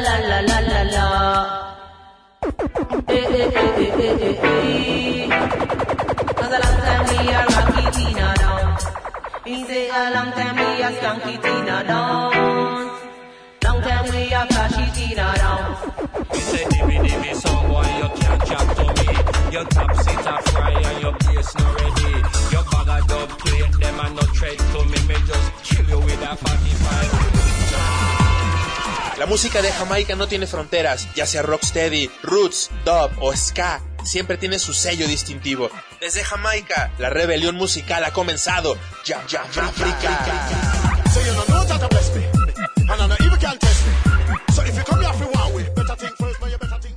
la la la la la. Cause a long time we are rocky Tina down. Me say a long time we are skunky Tina down. Long time we are flashy Tina down. Me say dimmy song boy you can't chat to me. Your top seat a fry and your bass not ready. Your bag of dub plate them and no tread to me. Me just kill you with a 45. La música de Jamaica no tiene fronteras, ya sea rocksteady, roots, dub o ska, siempre tiene su sello distintivo. Desde Jamaica, la rebelión musical ha comenzado. Jam Jam Africa. So you don't know that I bless me, and I know even can't test me. So if you come here for one way, better think first, but you better think.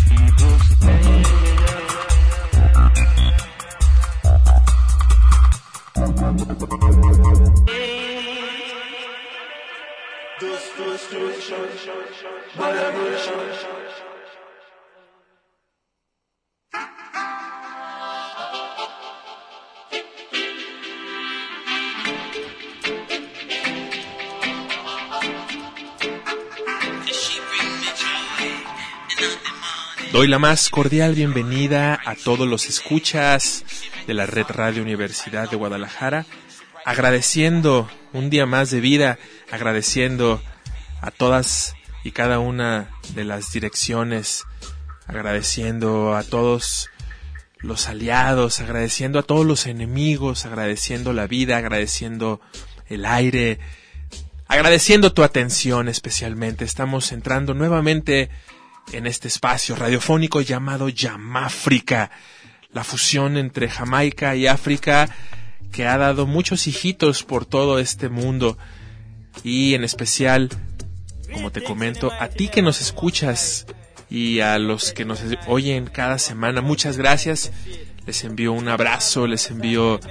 Doy la más cordial bienvenida a todos los escuchas de la Red Radio Universidad de Guadalajara, agradeciendo un día más de vida, agradeciendo a todas y cada una de las direcciones, agradeciendo a todos los aliados, agradeciendo a todos los enemigos, agradeciendo la vida, agradeciendo el aire, agradeciendo tu atención especialmente. Estamos entrando nuevamente en este espacio radiofónico llamado Yamáfrica, la fusión entre Jamaica y África que ha dado muchos hijitos por todo este mundo, y en especial, como te comento, a ti que nos escuchas y a los que nos oyen cada semana, muchas gracias. Les envío un abrazo, les envío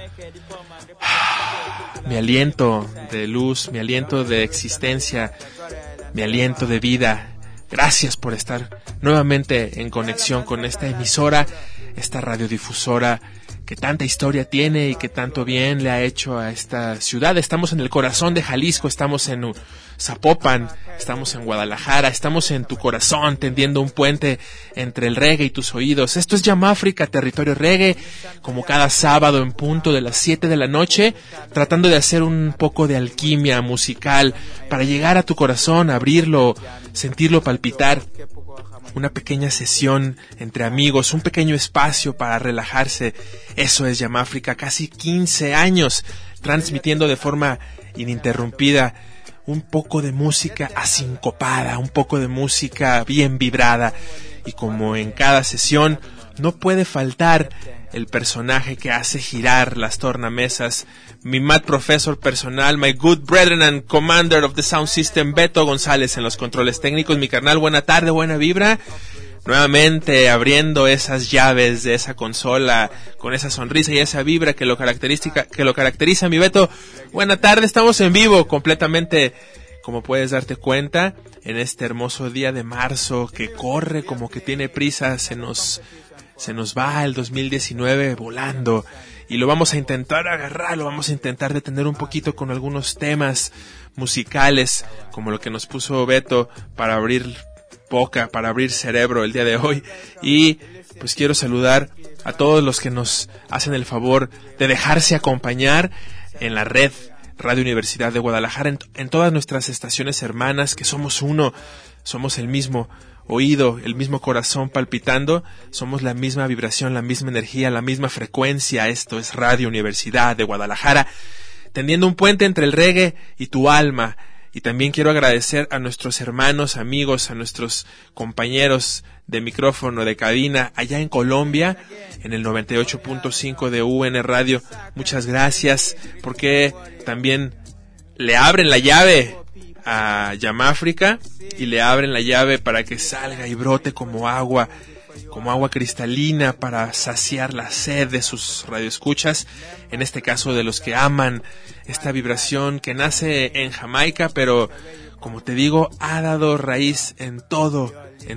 mi aliento de luz, mi aliento de existencia, mi aliento de vida. Gracias por estar nuevamente en conexión con esta emisora, esta radiodifusora que tanta historia tiene y que tanto bien le ha hecho a esta ciudad. Estamos en el corazón de Jalisco, estamos en Zapopan, estamos en Guadalajara, estamos en tu corazón, tendiendo un puente entre el reggae y tus oídos. Esto es Yamáfrica, territorio reggae, como cada sábado en punto de las 7 de la noche, tratando de hacer un poco de alquimia musical para llegar a tu corazón, abrirlo, sentirlo palpitar. Una pequeña sesión entre amigos, un pequeño espacio para relajarse. Eso es Yamáfrica, casi 15 años transmitiendo de forma ininterrumpida un poco de música asincopada, un poco de música bien vibrada. Y como en cada sesión, no puede faltar el personaje que hace girar las tornamesas, mi mad professor personal, my good brethren and commander of the sound system, Beto González en los controles técnicos. Mi carnal, buena tarde, buena vibra. Nuevamente abriendo esas llaves de esa consola con esa sonrisa y esa vibra que lo caracteriza, mi Beto. Buena tarde, estamos en vivo completamente, como puedes darte cuenta, en este hermoso día de marzo que corre como que tiene prisa. Se nos va el 2019 volando y lo vamos a intentar agarrar, lo vamos a intentar detener un poquito con algunos temas musicales como lo que nos puso Beto para abrir boca, para abrir cerebro el día de hoy. Y pues quiero saludar a todos los que nos hacen el favor de dejarse acompañar en la red Radio Universidad de Guadalajara, en todas nuestras estaciones hermanas, que somos uno, somos el mismo oído, el mismo corazón palpitando, somos la misma vibración, la misma energía, la misma frecuencia. Esto es Radio Universidad de Guadalajara, tendiendo un puente entre el reggae y tu alma. Y también quiero agradecer a nuestros hermanos, amigos, a nuestros compañeros de micrófono, de cabina, allá en Colombia, en el 98.5 de UN Radio. Muchas gracias, porque también le abren la llave a Yamáfrica y le abren la llave para que salga y brote como agua cristalina para saciar la sed de sus radioescuchas, en este caso de los que aman esta vibración que nace en Jamaica, pero como te digo, ha dado raíz en todo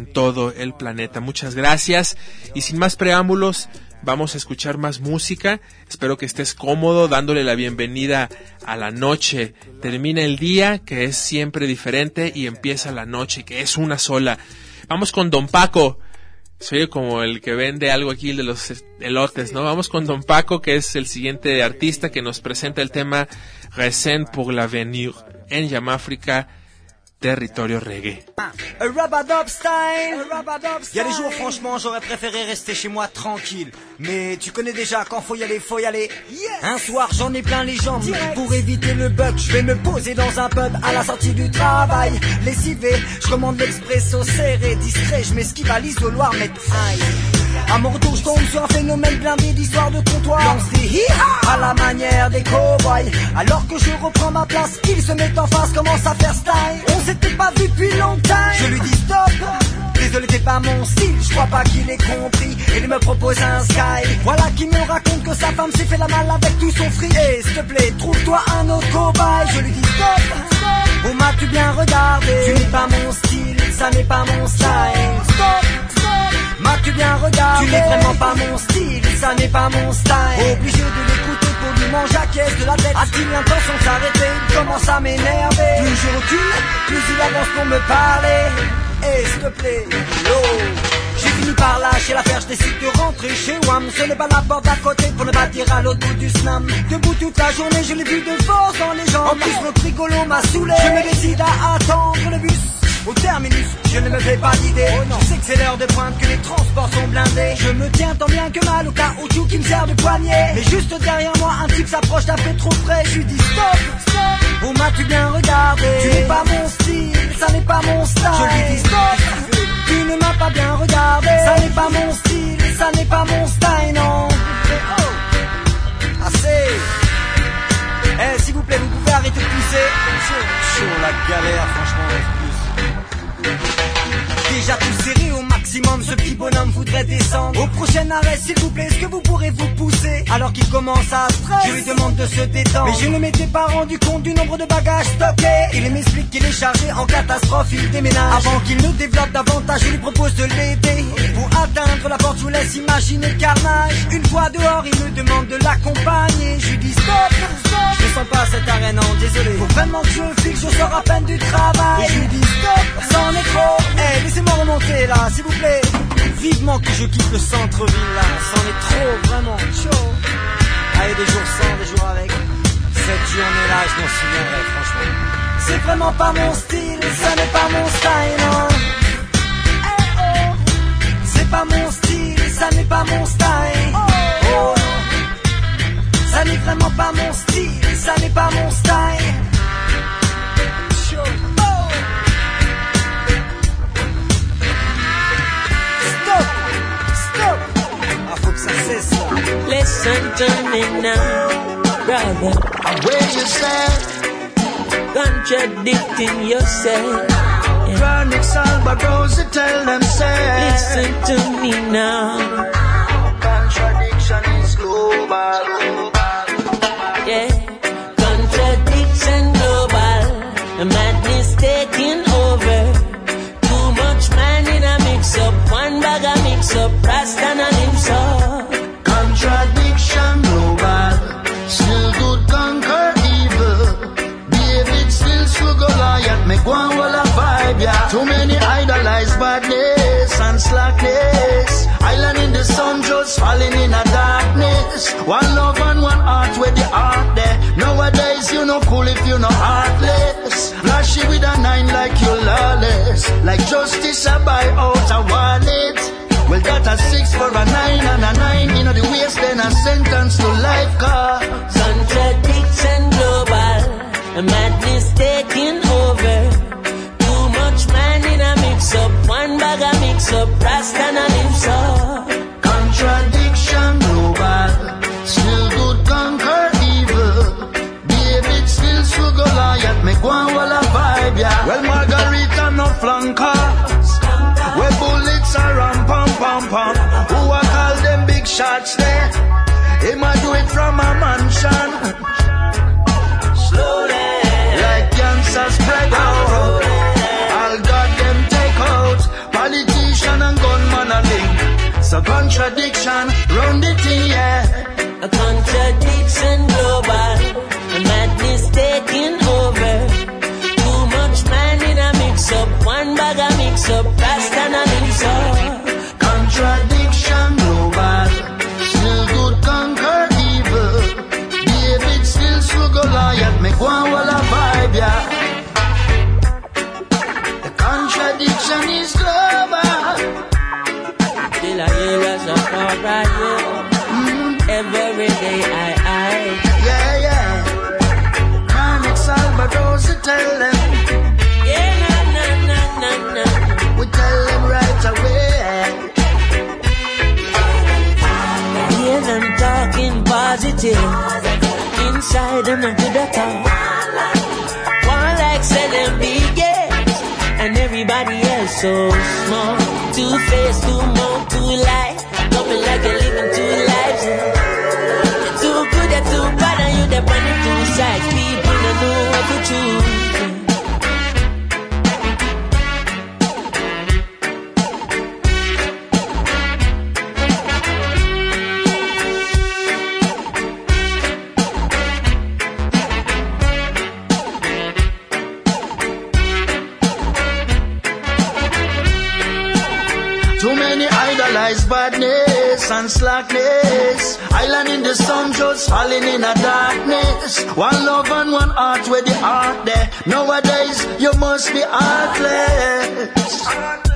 el planeta. Muchas gracias, y sin más preámbulos, vamos a escuchar más música. Espero que estés cómodo, dándole la bienvenida a la noche. Termina el día, que es siempre diferente, y empieza la noche, que es una sola. Vamos con Don Paco. Soy como el que vende algo aquí de los elotes, ¿no? Vamos con Don Paco, que es el siguiente artista que nos presenta el tema Recen pour l'avenir en Yamáfrica, territorio reggae. Rub-a-dub style. Il y a des jours, franchement, j'aurais préféré rester chez moi tranquille. Mais tu connais déjà, quand faut y aller, faut y aller. Un soir, j'en ai plein les jambes. Pour éviter le bug, je vais me poser dans un pub à la sortie du travail. Lessivé, je commande l'expresso serré, distrait, je m'esquive à l'isoloir, mais aïe. À mon retour, je tombe sur un phénomène blindé d'histoire de comptoir. Lancé à la manière des cow-boys. Alors que je reprends ma place, il se met en face, commence à faire style. On s'était pas vu depuis longtemps. Je lui dis stop, Désolé, t'es pas mon style, je crois pas qu'il ait compris. Et il me propose un sky. Voilà qui me raconte que sa femme s'est fait la malle avec tout son fric. Et s'il te plaît, trouve-toi un autre cobaye. Je lui dis stop. Où m'as-tu bien regardé? Tu n'es pas mon style, ça n'est pas mon style. Stop. M'as-tu bien regardé? Tu n'es vraiment pas mon style, ça n'est pas mon style. Obligé de l'écouter pour lui manger à caisse de la tête. A-t-il l'intention de s'arrêter? Il commence à m'énerver. Plus je recule, plus il avance pour me parler. Et s'il te plaît, yo. J'ai fini par lâcher l'affaire, je décide de rentrer chez WAM. Ce n'est pas la porte d'à côté pour ne pas dire à l'autre bout du slam. Debout toute la journée, je l'ai vu de force dans les jambes. En plus, notre rigolo m'a saoulé. Je me décide à attendre le bus au terminus, je ne me fais pas d'idée. Je sais que c'est l'heure de pointe, que les transports sont blindés. Je me tiens tant bien que mal au caoutchouc qui me sert de poignée. Mais juste derrière moi, un type s'approche d'un peu trop près. Je lui dis stop. Où m'as-tu bien regardé? Tu n'es pas mon style, ça n'est pas mon style. Je lui dis stop. Tu ne m'as pas bien regardé. Ça n'est pas mon style, ça n'est pas mon style, non. Assez. Eh, s'il vous plaît, vous pouvez arrêter de pousser. Chaud la galère, franchement. Déjà tout serré au maximum, ce petit bonhomme voudrait descendre. Au prochain arrêt, s'il vous plaît, est-ce que vous pourrez vous pousser? Alors qu'il commence à stresser, je lui demande de se détendre. Mais je ne m'étais pas rendu compte du nombre de bagages stockés. Il m'explique qu'il est chargé en catastrophe, il déménage. Avant qu'il ne développe davantage, je lui propose de l'aider. Pour atteindre la porte, je vous laisse imaginer le carnage. Une fois dehors, il me demande de l'accompagner. Je lui dis stop. Je ne sens pas cette arène, non, désolé. Faut vraiment que je file, je sors à peine du travail. Et je lui dis stop, c'en est trop. Eh, laissez-moi remonter là, s'il vous plaît. Vivement que je quitte le centre-ville là, c'en est trop, vraiment chaud. Allez, des jours sans, des jours avec. Cette journée-là, je m'en souviendrai, franchement. C'est vraiment pas mon style, ça n'est pas mon style, non. Eh oh, c'est pas mon style, ça n'est pas mon style. Oh, ça n'est vraiment pas mon style, ça n'est pas mon style. Listen to me now, brother. Where you stand, contradicting yourself. Yeah. Chronic Salvador, tell them say. Listen to me now. Contradiction is global. Yeah, contradiction global. The madness taking over. Too much man in a mix up. One bag a mix up. Rasta and himself. Contradiction global. Still good conquer evil. David still struggle Goliath. Make one wall a vibe, yeah. Too many idolize badness and slackness. Island in the sun just falling in a darkness. One love and one heart where the heart there. Nowadays you no cool if you no heartless. Flashy with a 9 like you lawless. Like justice I buy out a wallet. Well, that a 6 for a 9 and a 9 in the waist, then a sentence to life car. Contradiction global, the madness taking over. Too much man in a mix up, one bag a mix up, Rasta and himself. Contradiction global, still good conquer evil. David still struggle Goliath, make one wall a vibe, yeah. Well, Margarita no flankers, where bullets are ram pam pam pam. Who I call them big shots there? He might do it from a mansion. Slowly, like cancer spread out. All got them take out. Politician and gunman a link. So contradiction round the thing, yeah. A contradiction global, the madness taking over. Too much man in a mix up, one bag a mix up, Rasta and himself. Contradiction global, still good conquer evil. David still struggle Goliath, make one wall a vibe, yeah. The contradiction is global. Till I hear us up right here. Every day I. Yeah, yeah. Chronic Salvador, tell them. Yeah, na. We tell them right away. Hear them talking positive. Inside them and to the top. One like say them big, yes. And everybody else so small. face, two mouth, two life. Coming like you're living two lives. You're too good, you're too bad, and you're the bunny two sides. People don't know what to choose. Too many idolize badness and slackness. Island in the sun just falling in a darkness. One love and one heart where the heart there. Nowadays you must be heartless.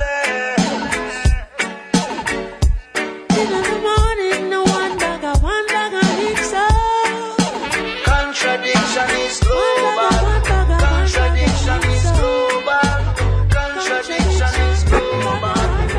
In the morning, no one bag of mix up. Contradiction is global. Contradiction is global. Contradiction is global.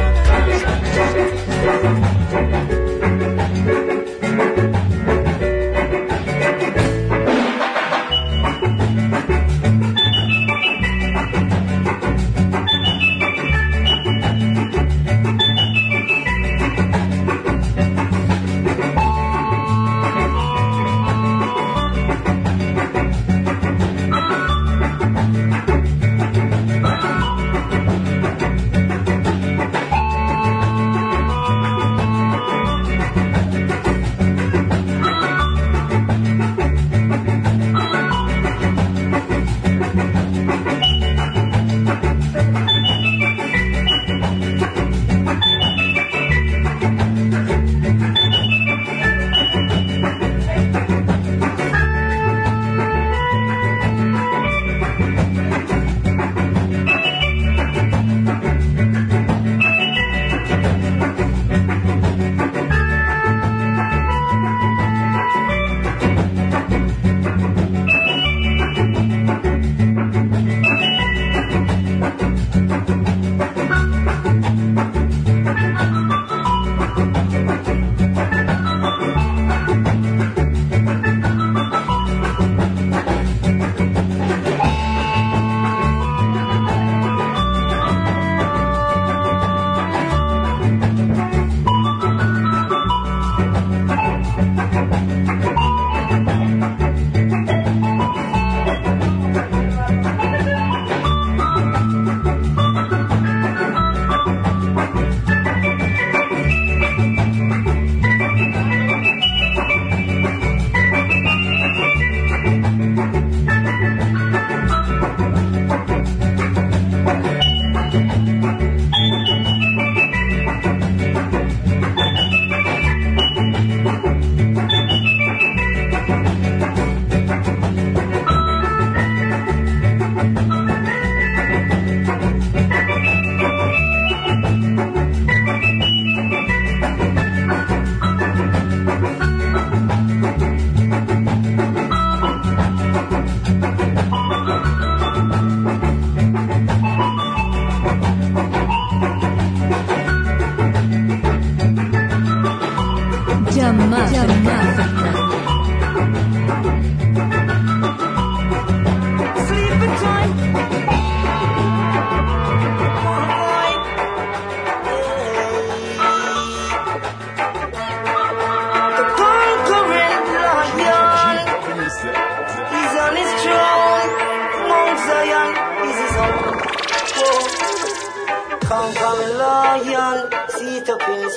Conquering lion, seat up in his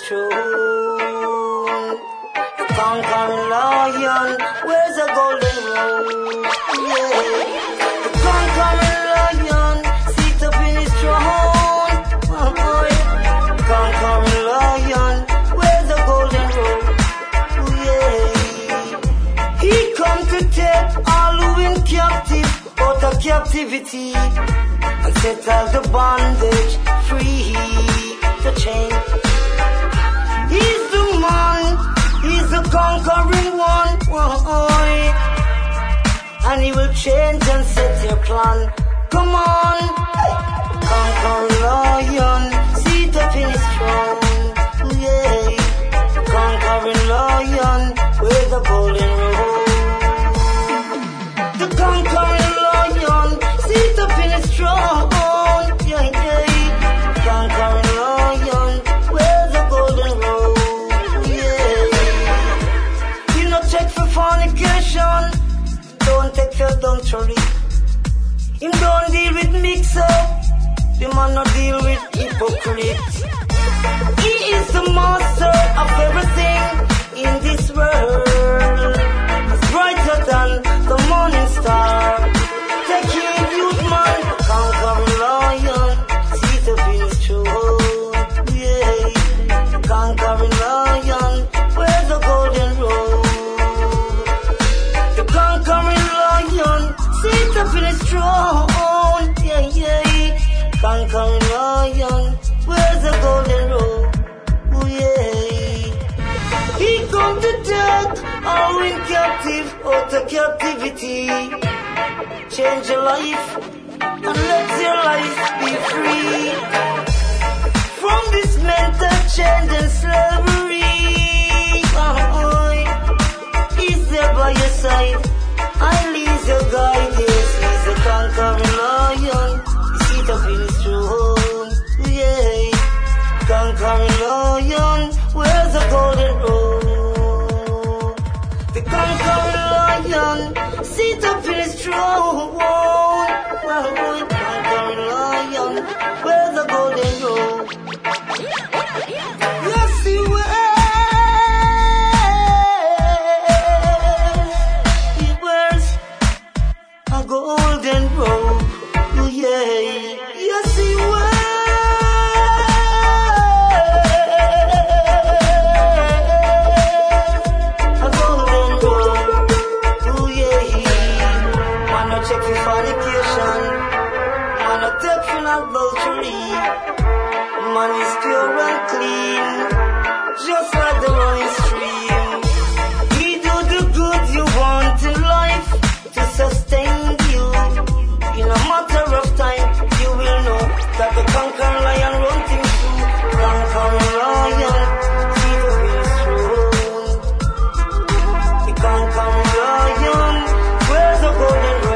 throne. Conquering lion, where's the golden road? Yeah. The conquering lion, seat up in his throne. Oh, yeah. Conquering lion, where's the golden road? Yeah. He come to take all who in captive out of captivity and set all the bondage free, the chain. He's the man, he's the conquering one, and he will change and set your plan. Come on, conquering lion, sit up in his throne, yeah. Conquering lion, with the golden road. The conquering lion, sit up in his throne, yeah, yeah. Conquering lion, script. He is the master of everything in this world. He's brighter than the morning star. Take him, youth man, conquering lion, seat up in his throne. Yeah, conquering lion, where's the golden road? The conquering lion, seat up in his throne. Yeah, yeah, conquering lion, where's the golden road? Oh yeah. He come to death, all in captive, out of captivity. Change your life, and let your life be free. From this mental change and slavery. He's there by your side, I'll ease your guide. Yes, he's a conquering lion, he sit up in his throne. Yeah, conquering lion, where's the golden road? The conquering lion, sit up in his throne. Conquering lion, where's the golden road? Yes, he will. He wears a golden robe. Oh yeah, yes he will. Check for fornication, man a take for adultery. Man is pure and clean, just like the running stream. He do the good you want in life to sustain you. In a matter of time, you will know that the conquering lion run things through. Conquering lion, see the wheels through. The conquering lion, where's the golden road?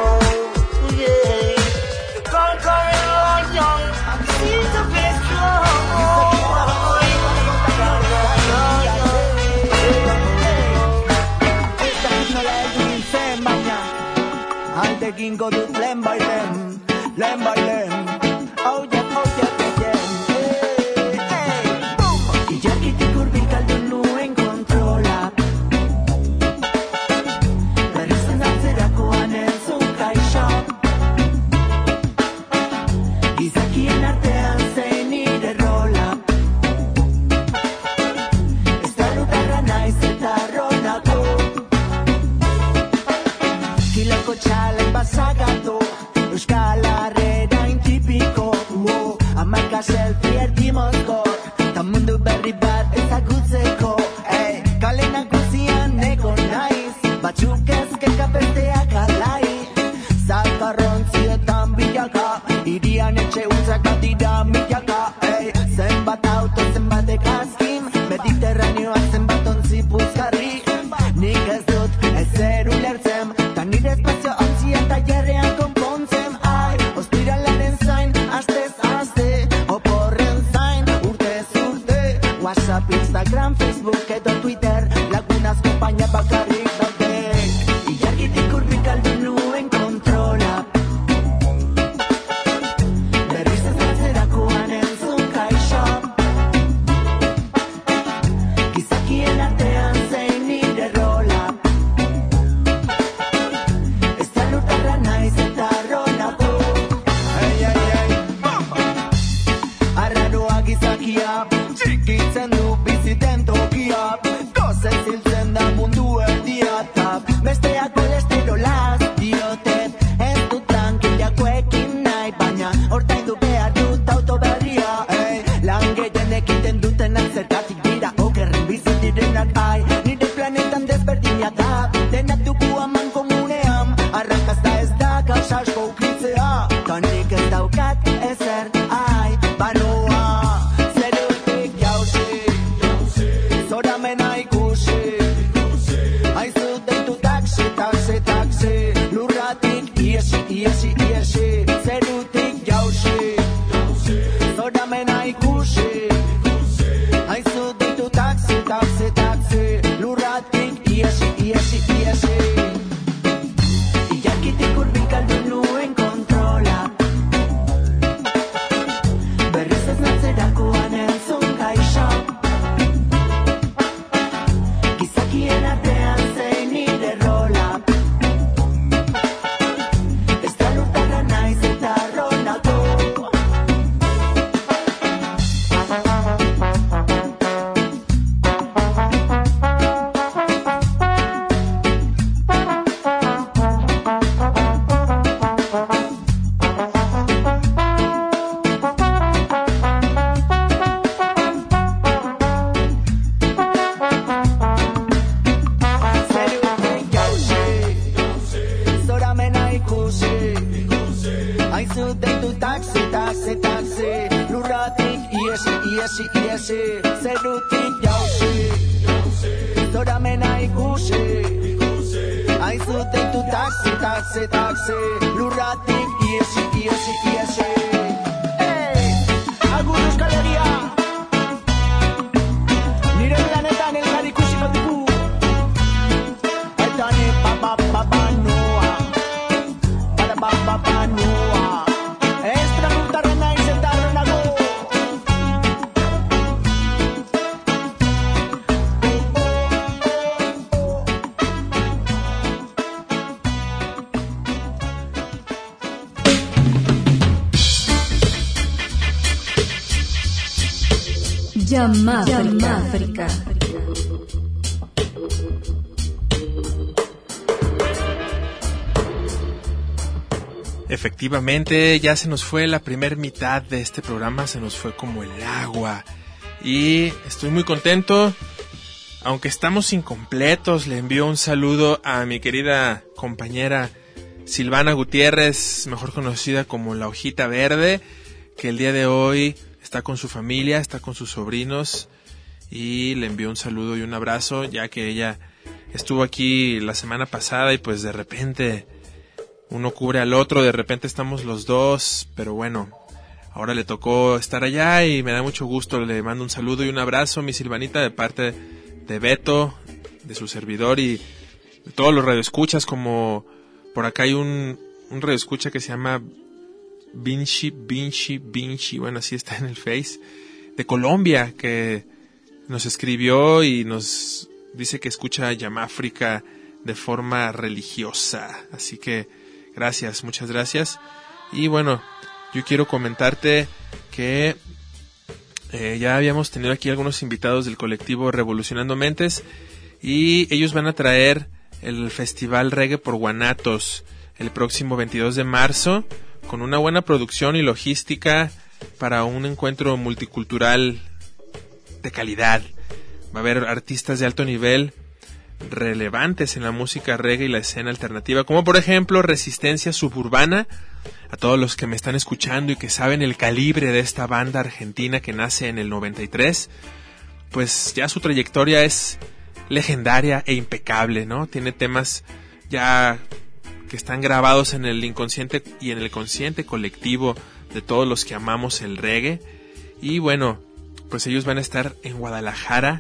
Taking go to them by them, them by them. Oh yeah, oh yeah, yeah, yeah. Hey, boom. Y ya que te curvica el no controla. Pero se nace da con el su caixa. Y se aquí en arte hace ni de rola. Esta ruta rana y se tarrona todo. Y la cochala Pasagato, Euskal Herriain tipiko, Amarka selfie ertimozko, ta mundu berri bat ezagutzeko, kale nagusian egon naiz, batzuk ezkeka besteak alai, zakarrontzietan bilaka, irian etxe utzak bat dira milaka, zenbat auto, zenbat ekazkin, mediterraneoa zenbat ontzi puzgarri, nik ez dut ezer ulertzen, ta nire espazio eta jarrean konpontzen, ai, ostiralaren zain, astez aste, oporren zain, urtez urte, WhatsApp, Instagram, Facebook edo Twitter, lagunaz konpaina bakarrik daude, ilargitik urbik aldu nuen kontrola, berriz ez batzerakoan entzun kaixo, gizakien artean zein nire rola, txikitzen du biziten tokia, dozen ziltzen da mundu erdia. she. Say do it, yo, she. So da men I ikushi. I so take to taxi, taxi, taxi. Luratic, yes, yes, yes, hey, algunos galería. Nire la neta en el carikushi no tipu. I done it, ba ba ba ba noa. Ba ba ba ba noa. Extra nunca rena y sentaron a go. Yamáfrica. Efectivamente, ya se nos fue la primer mitad de este programa, se nos fue como el agua. Y estoy muy contento, aunque estamos incompletos. Le envío un saludo a mi querida compañera Silvana Gutiérrez, mejor conocida como La Hojita Verde, que el día de hoy está con su familia, está con sus sobrinos, y le envío un saludo y un abrazo, ya que ella estuvo aquí la semana pasada y pues de repente uno cubre al otro, de repente estamos los dos, pero bueno, ahora le tocó estar allá y me da mucho gusto. Le mando un saludo y un abrazo, mi Silvanita, de parte de Beto, de su servidor y de todos los radioescuchas. Como por acá hay un radioescucha que se llama Vinci, bueno, así está en el Face, de Colombia, que nos escribió y nos dice que escucha Yamáfrica de forma religiosa. Así que gracias, muchas gracias. Y bueno, yo quiero comentarte que ya habíamos tenido aquí algunos invitados del colectivo Revolucionando Mentes, y ellos van a traer el Festival Reggae por Guanatos el próximo 22 de marzo, con una buena producción y logística para un encuentro multicultural de calidad. Va a haber artistas de alto nivel relevantes en la música reggae y la escena alternativa, como por ejemplo Resistencia Suburbana. A todos los que me están escuchando y que saben el calibre de esta banda argentina que nace en el 93, pues ya su trayectoria es legendaria e impecable, ¿no? Tiene temas ya que están grabados en el inconsciente y en el consciente colectivo de todos los que amamos el reggae. Y bueno, pues ellos van a estar en Guadalajara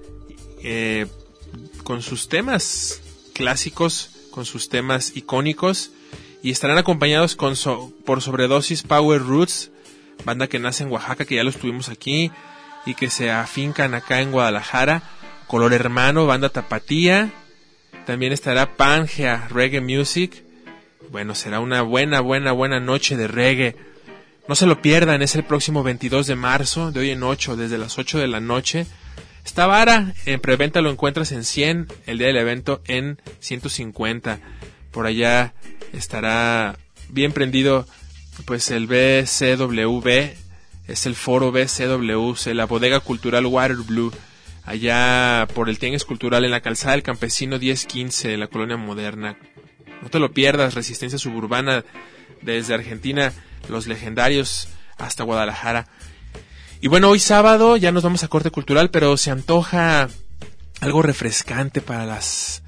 con sus temas clásicos, con sus temas icónicos, y estarán acompañados por Sobredosis Power Roots, banda que nace en Oaxaca, que ya los tuvimos aquí y que se afincan acá en Guadalajara. Color Hermano, banda tapatía. También estará Pangea Reggae Music. Bueno, será una buena noche de reggae. No se lo pierdan, es el próximo 22 de marzo, de hoy en 8, desde las 8 de la noche. Está vara, en preventa lo encuentras en 100, el día del evento en 150. Por allá estará bien prendido pues el BCWB, es el foro BCWC, la bodega cultural Waterblue, allá por el Tianguis Cultural en la calzada del Campesino 1015, en la Colonia Moderna. No te lo pierdas, Resistencia Suburbana desde Argentina, los legendarios hasta Guadalajara. Y bueno, hoy sábado ya nos vamos a corte cultural, pero se antoja algo refrescante para las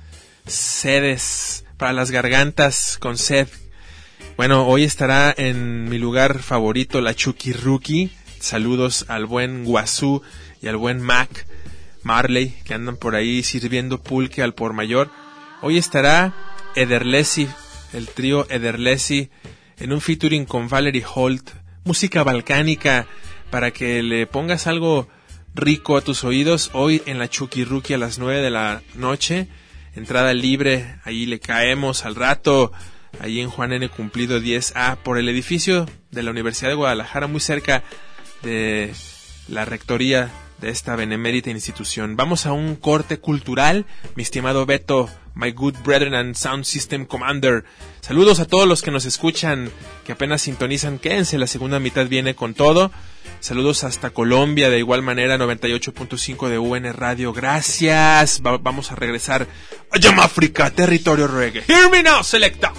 sedes, para las gargantas con sed. Bueno, hoy estará en mi lugar favorito la Chuquirruqui. Saludos al buen Guazú y al buen Mac Marley, que andan por ahí sirviendo pulque al por mayor. Hoy estará Ederlesi, el trío Ederlesi, en un featuring con Valerie Holt, música balcánica para que le pongas algo rico a tus oídos. Hoy en la Chuquirruqui a las 9 de la noche, entrada libre, ahí le caemos al rato, ahí en Juan N. Cumplido 10A, por el edificio de la Universidad de Guadalajara, muy cerca de la rectoría de esta benemérita institución. Vamos a un corte cultural, mi estimado Beto, my good brethren and sound system commander. Saludos a todos los que nos escuchan, que apenas sintonizan. Quédense, la segunda mitad viene con todo. Saludos hasta Colombia, de igual manera 98.5 de UN Radio. Gracias. Vamos a regresar a Yamáfrica, territorio reggae. Hear me now, selecta.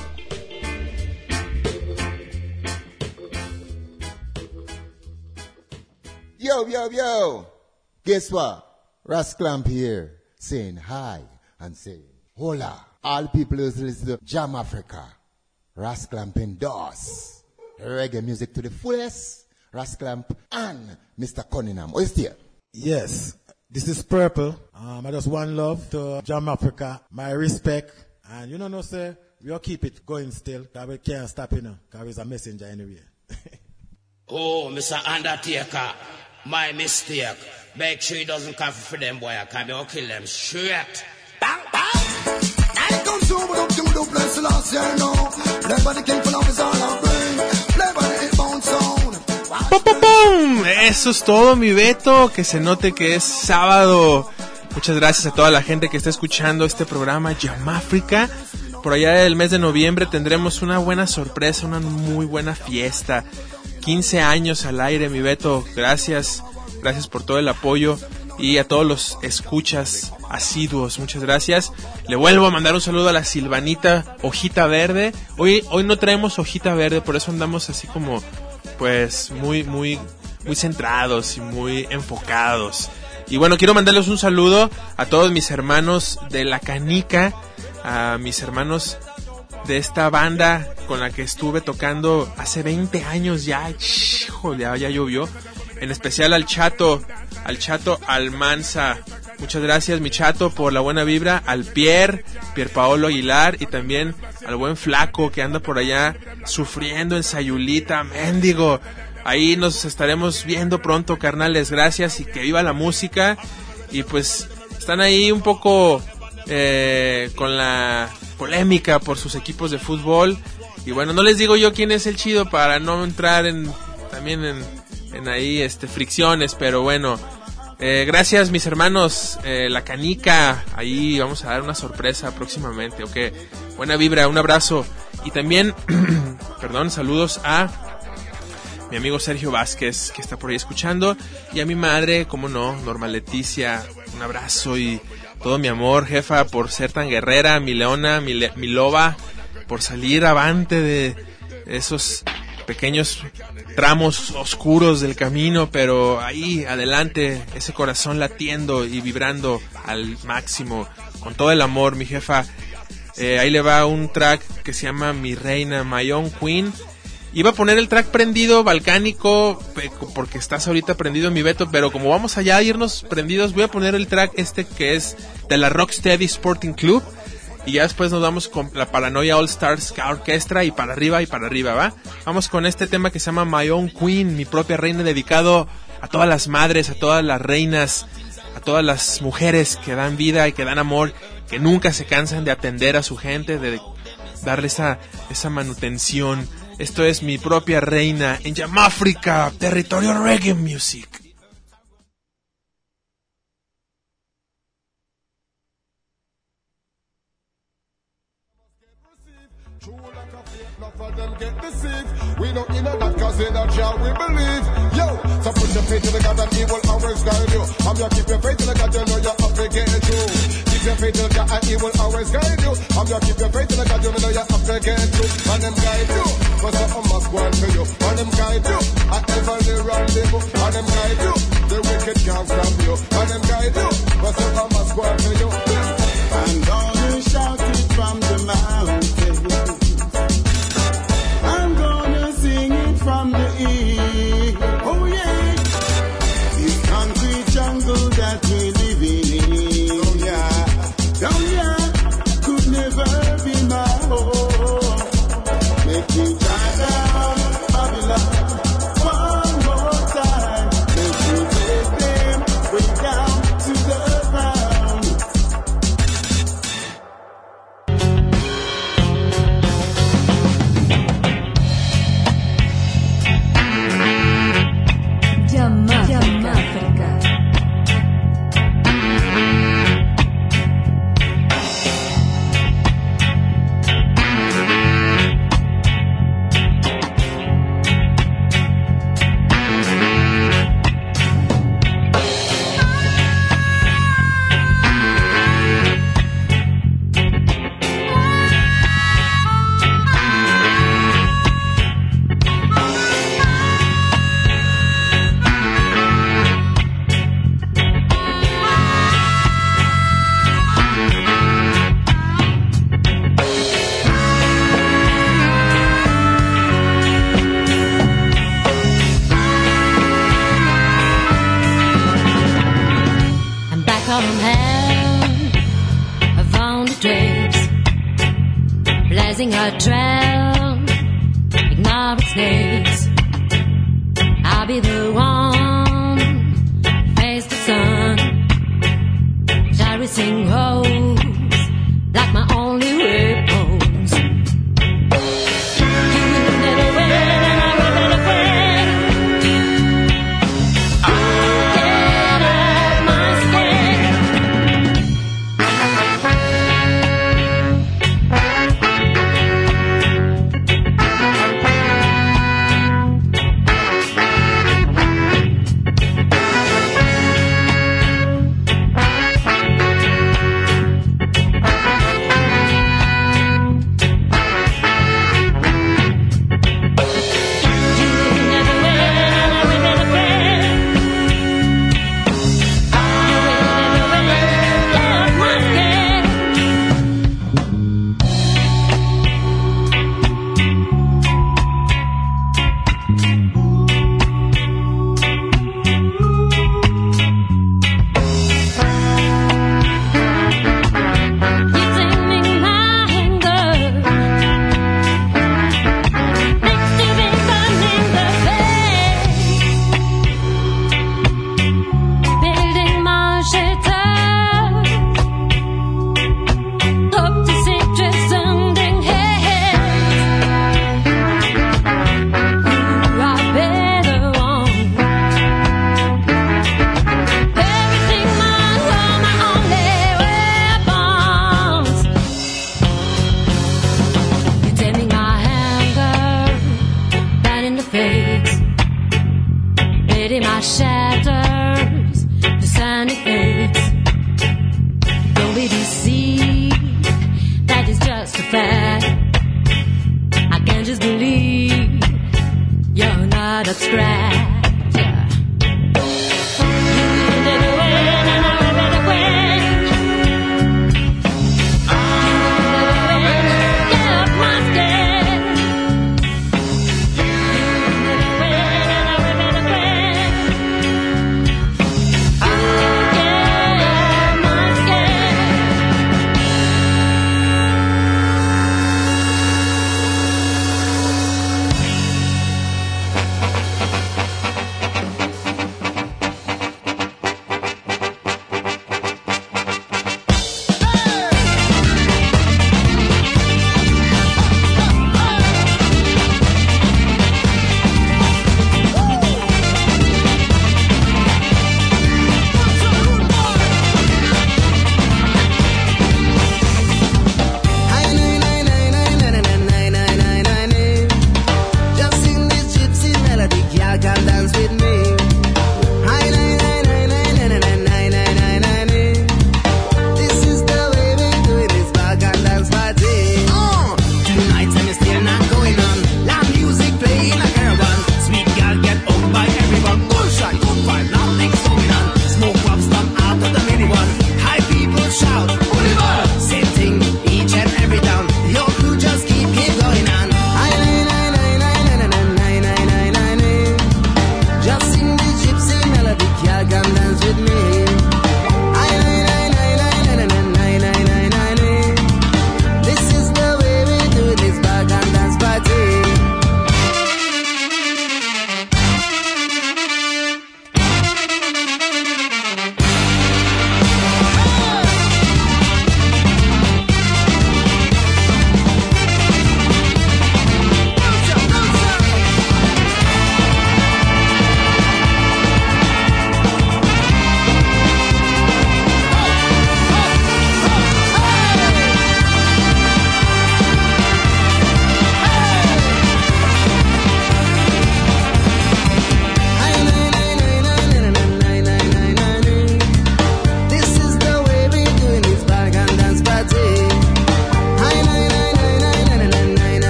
Yo, yo, yo. Guess what? Rasclamp here, saying hi and saying hola. All people who listen to Jam Africa, Rasclamp endorse reggae music to the fullest. Rasclamp and Mr. Cunningham. Are you still? Yes, this is Purple. I just one love to Jam Africa. My respect. And you know, sir, we'll keep it going still. Because we can't stop, because he's a messenger anyway. Oh, Mr. Undertaker, my mistake. Make sure he doesn't come for them, boy. I can't be kill them straight. Bang, bang! I come to what up to the place last year, no. Play by the king for love is all I bring. Play by the hitbound sound. ¡Pum, pum, pum! Eso es todo, mi Beto. Que se note que es sábado. Muchas gracias a toda la gente que está escuchando este programa Jam Africa. Por allá del mes de noviembre tendremos una buena sorpresa, una muy buena fiesta. 15 años al aire, mi Beto. Gracias por todo el apoyo. Y a todos los escuchas asiduos, muchas gracias. Le vuelvo a mandar un saludo a la Silvanita Hojita Verde. Hoy no traemos Hojita Verde, por eso andamos así como, pues, muy centrados y muy enfocados. Y bueno, quiero mandarles un saludo a todos mis hermanos de La Canica, a mis hermanos de esta banda con la que estuve tocando hace 20 años ya. Híjole, ya llovió. En especial al Chato Almanza. Muchas gracias, mi Chato, por la buena vibra. Al Pierre Paolo Aguilar, y también al buen Flaco que anda por allá sufriendo en Sayulita, mendigo. Ahí nos estaremos viendo pronto, carnales. Gracias y que viva la música. Y pues están ahí un poco con la polémica por sus equipos de fútbol. Y bueno, no les digo yo quién es el chido para no entrar en ahí fricciones, pero bueno, gracias mis hermanos, La Canica, ahí vamos a dar una sorpresa próximamente, ok, buena vibra, un abrazo, y también, saludos a mi amigo Sergio Vázquez, que está por ahí escuchando, y a mi madre, como no, Norma Leticia, un abrazo y todo mi amor, jefa, por ser tan guerrera, mi leona, mi loba, por salir avante de esos pequeños tramos oscuros del camino, pero ahí adelante, ese corazón latiendo y vibrando al máximo, con todo el amor, mi jefa. Ahí le va un track que se llama Mi Reina, My Own Queen. Iba a poner el track prendido, balcánico, porque estás ahorita prendido, mi Beto, pero como vamos allá a irnos prendidos, voy a poner el track que es de la Rocksteady Sporting Club. Y ya después nos vamos con la Paranoia All Stars Orchestra y para arriba, ¿va? Vamos con este tema que se llama My Own Queen, mi propia reina, dedicado a todas las madres, a todas las reinas, a todas las mujeres que dan vida y que dan amor, que nunca se cansan de atender a su gente, de darle esa manutención. Esto es Mi Propia Reina en Jam Africa, territorio reggae music. Them get deceived. We don't in that cause in that jar we believe. Yo, so put your faith in the God and he will always guide you. I'm gonna keep your faith in the God, you know you're up to get it through. Keep your faith in the God and he will always guide you. I'm gonna keep your faith in the God, you know you're up to get it through. And them guide you, but something must go on for you. And them guide you, at every rendezvous. And them guide you, the wicked can't stop you. And them guide you, but something must go on for you. I'm gonna shout it from the mountain. From the east, oh yeah, this concrete jungle that we live in, oh yeah, could never be my home. Make me drive down Babylon one more time. Make me take them way down to the hand, I found a trace, blazing a trail, ignore its snakes. I'll be the one, face the sun, shall we sing hose, like my only repose.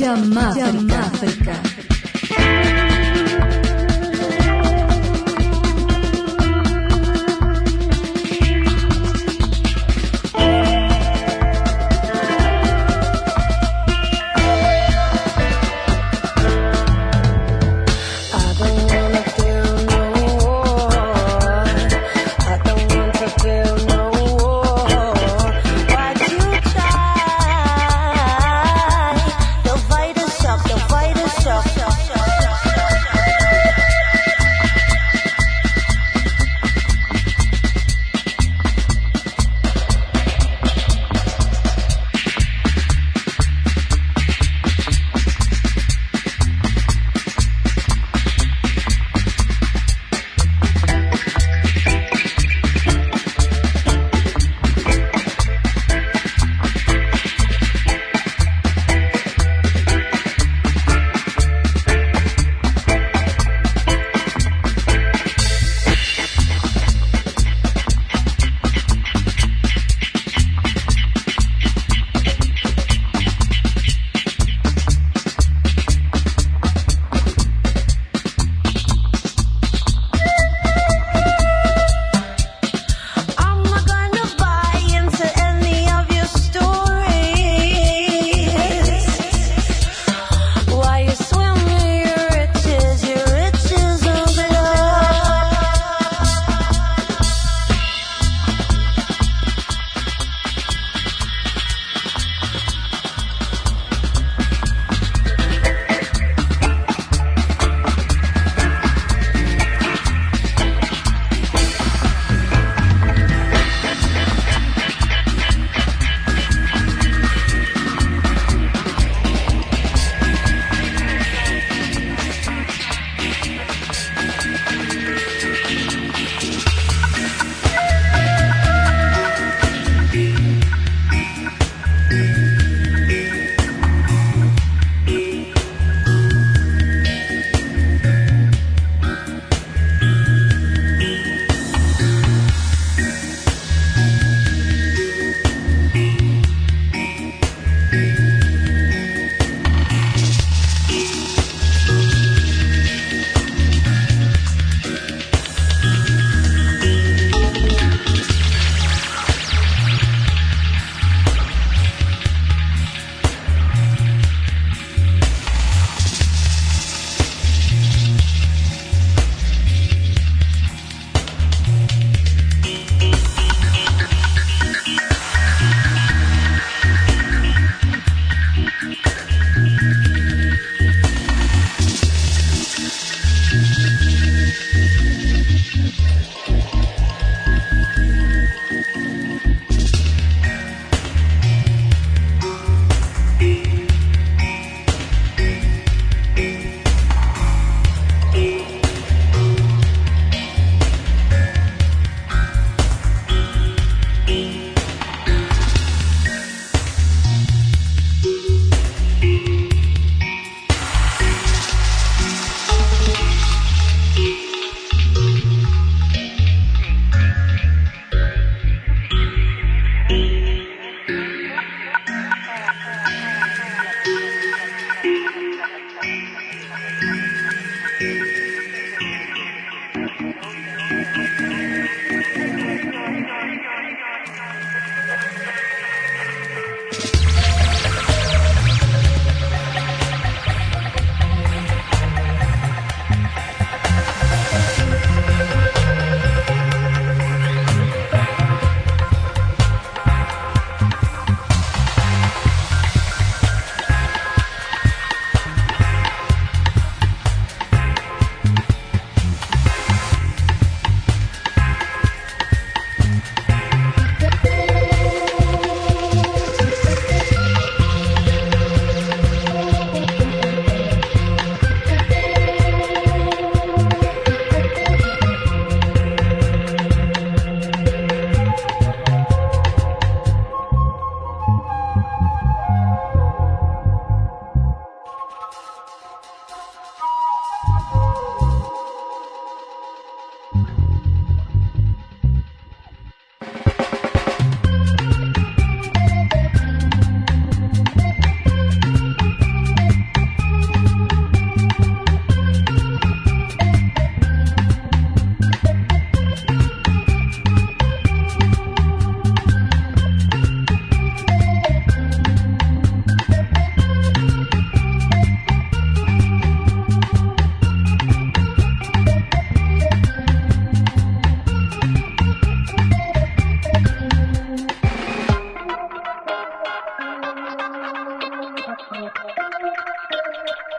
Jam Africa. Shock.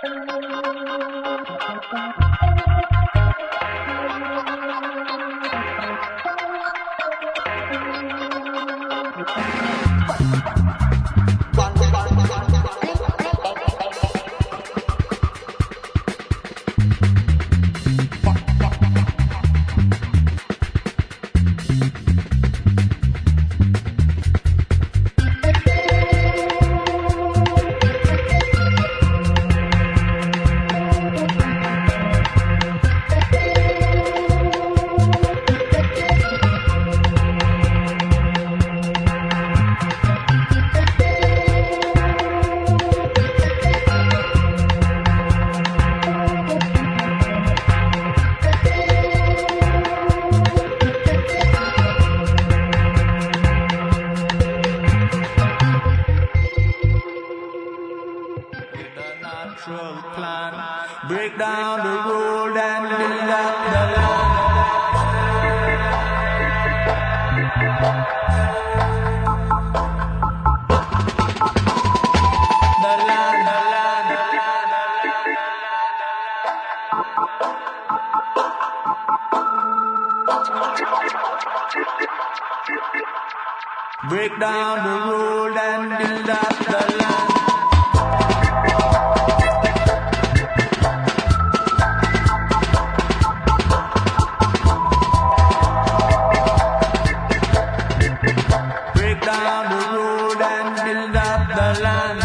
Break down the road and build up the land. Break down the road and build up the land. Break down the road and build up the land.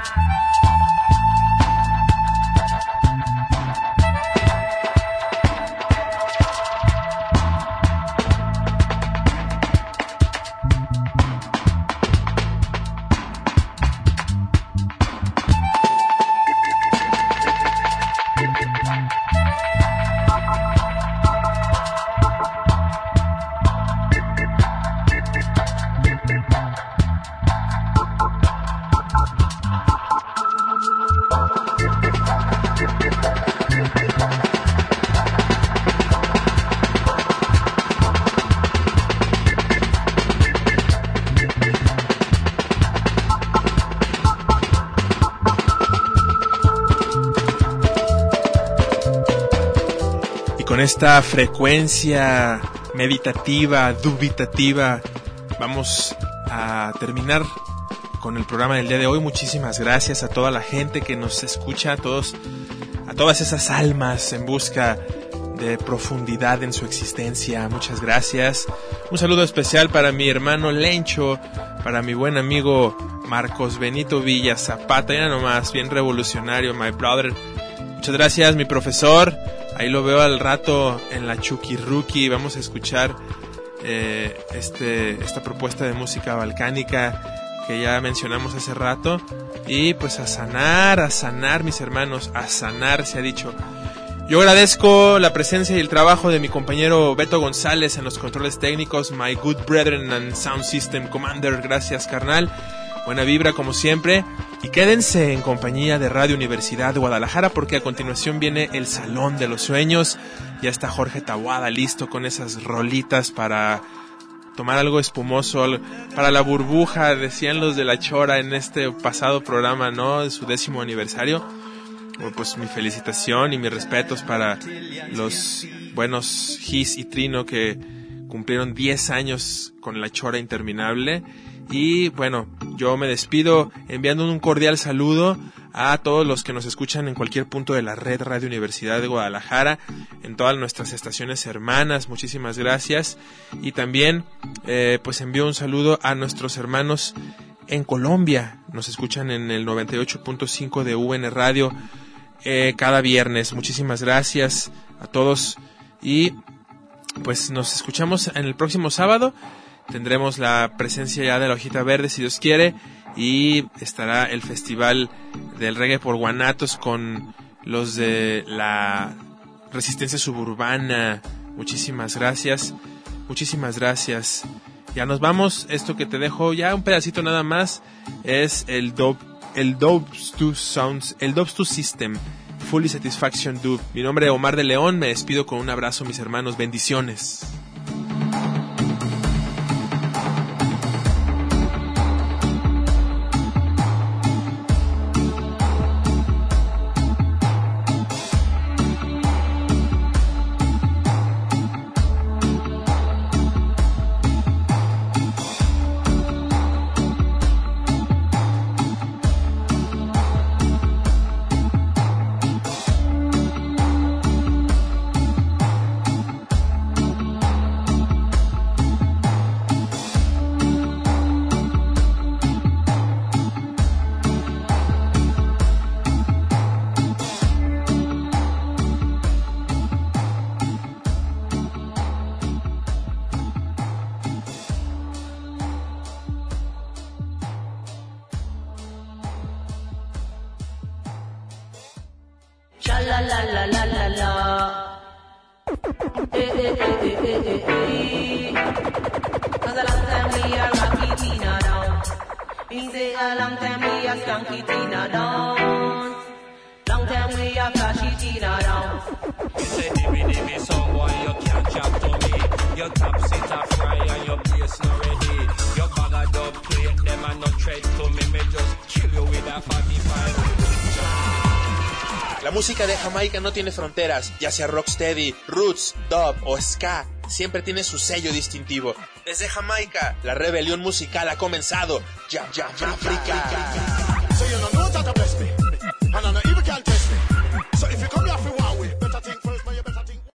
Con esta frecuencia meditativa, dubitativa, vamos a terminar con el programa del día de hoy. Muchísimas gracias a toda la gente que nos escucha, a todas esas almas en busca de profundidad en su existencia. Muchas gracias. Un saludo especial para mi hermano Lencho, para mi buen amigo Marcos Benito Villa Zapata, ya nomás, bien revolucionario, my brother. Muchas gracias, mi profesor. Ahí lo veo al rato en la Chucky Rookie. Vamos a escuchar esta propuesta de música balcánica que ya mencionamos hace rato. Y pues a sanar, mis hermanos, a sanar se ha dicho. Yo agradezco la presencia y el trabajo de mi compañero Beto González en los controles técnicos, my good brethren and sound system commander. Gracias, carnal. Buena vibra como siempre. Y quédense en compañía de Radio Universidad de Guadalajara, porque a continuación viene el Salón de los Sueños. Ya está Jorge Taboada listo con esas rolitas para tomar algo espumoso, para la burbuja, decían los de La Chora en este pasado programa, ¿no? De su 10º aniversario. Pues mi felicitación y mis respetos para los buenos Gis y Trino que cumplieron 10 años con La Chora Interminable. Y bueno, yo me despido enviando un cordial saludo a todos los que nos escuchan en cualquier punto de la red Radio Universidad de Guadalajara, en todas nuestras estaciones hermanas. Muchísimas gracias. Y también pues envío un saludo a nuestros hermanos en Colombia. Nos escuchan en el 98.5 de UN Radio cada viernes. Muchísimas gracias a todos y pues nos escuchamos en el próximo sábado. Tendremos la presencia ya de la Hojita Verde, si Dios quiere, y estará el Festival del Reggae por Guanatos con los de la Resistencia Suburbana. Muchísimas gracias. Ya nos vamos. Esto que te dejo, ya un pedacito nada más, es el Dubs 2 System, Fully Satisfaction Dub. Mi nombre es Omar de León, me despido con un abrazo, mis hermanos, bendiciones. la la la la la la. Cause a long time we are rocky Tina down. Me say a long time we are skunky Tina down. Long time we are flashy Tina down. You say dimmy song boy, you can't chat to me. Your top sit a fry and your bass not ready. Your bag of dub plate, them a not tread to me. Me just kill you with a 45. La música de Jamaica no tiene fronteras, ya sea rocksteady, roots, dub o ska, siempre tiene su sello distintivo. Desde Jamaica, la rebelión musical ha comenzado. Jam Africa. So you know that bless me.